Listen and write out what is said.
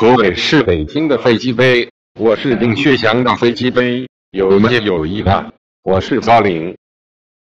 何伟是北京的飞机杯，我是丁薛祥的飞机杯，有没有意外？我是高龄。